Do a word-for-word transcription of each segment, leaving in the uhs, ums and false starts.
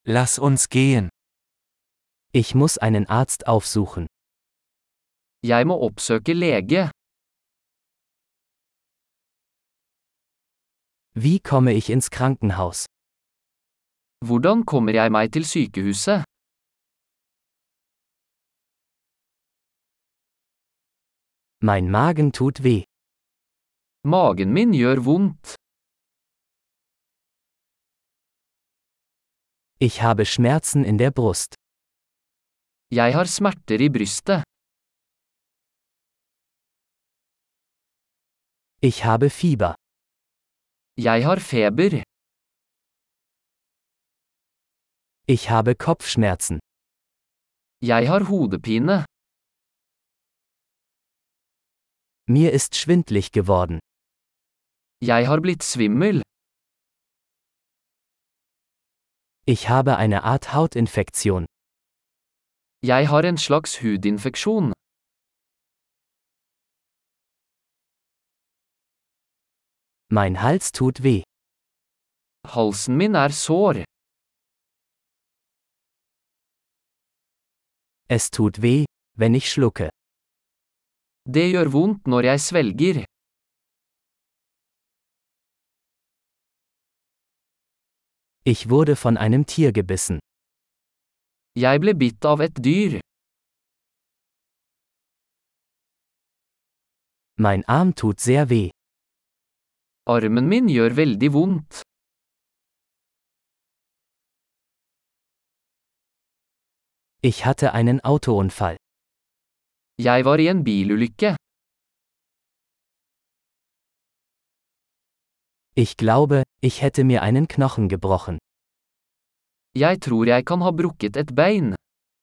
Lass uns gehen. Ich muss einen Arzt aufsuchen. Jeg må oppsøke lege. Wie komme ich ins Krankenhaus? Hvordan kommer jeg meg til sykehuset? Mein Magen tut weh. Magen min gjør vondt. Ich habe Schmerzen in der Brust. Jeg har smerter i brystet. Ich habe Fieber. Jeg har feber. Ich habe Kopfschmerzen. Jeg har hodepine. Mir ist schwindlig geworden. Jeg har blitt svimmel. Ich habe eine Art Hautinfektion. Jeg har en slags hudinfeksjon. Mein Hals tut weh. Halsen min er sår. Es tut weh, wenn ich schlucke. Det gjør vondt når jeg svelger. Ich wurde von einem Tier gebissen. Jeg ble bitt av et dyr. Mein Arm tut sehr weh. Armen min gjør veldig vondt. Ich hatte einen Autounfall. Jeg var i en bilulykke. Ich glaube, ich hätte mir einen Knochen gebrochen. Jeg tror jeg kan ha brukket et bein.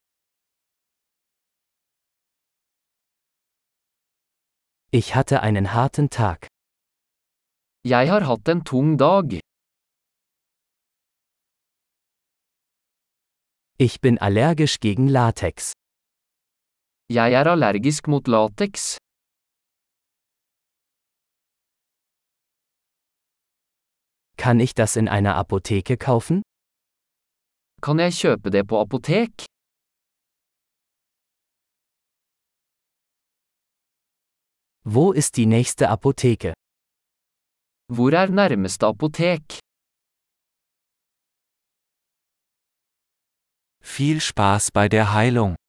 Ich hatte einen harten Tag. Jeg har hatt en tung dag. Ich bin allergisch gegen Latex. Jeg er allergisk mot lateks. Kann ich das in einer Apotheke kaufen? Kan jeg kjøpe det på apotek? Wo ist die nächste Apotheke? Hvor er nærmeste apotek? Viel Spaß bei der Heilung.